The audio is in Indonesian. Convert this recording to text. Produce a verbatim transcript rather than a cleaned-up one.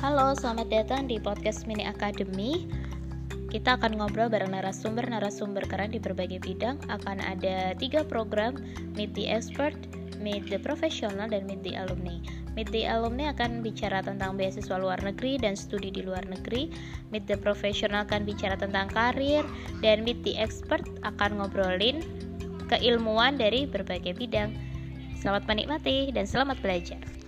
Halo, selamat datang di podcast Mini Academy. Kita akan ngobrol bareng narasumber-narasumber keren di berbagai bidang. Akan ada tiga program, Meet the Expert, Meet the Professional, dan Meet the Alumni. Meet the Alumni akan bicara tentang beasiswa luar negeri dan studi di luar negeri. Meet the Professional akan bicara tentang karir. Dan Meet the Expert akan ngobrolin keilmuan dari berbagai bidang. Selamat menikmati dan selamat belajar.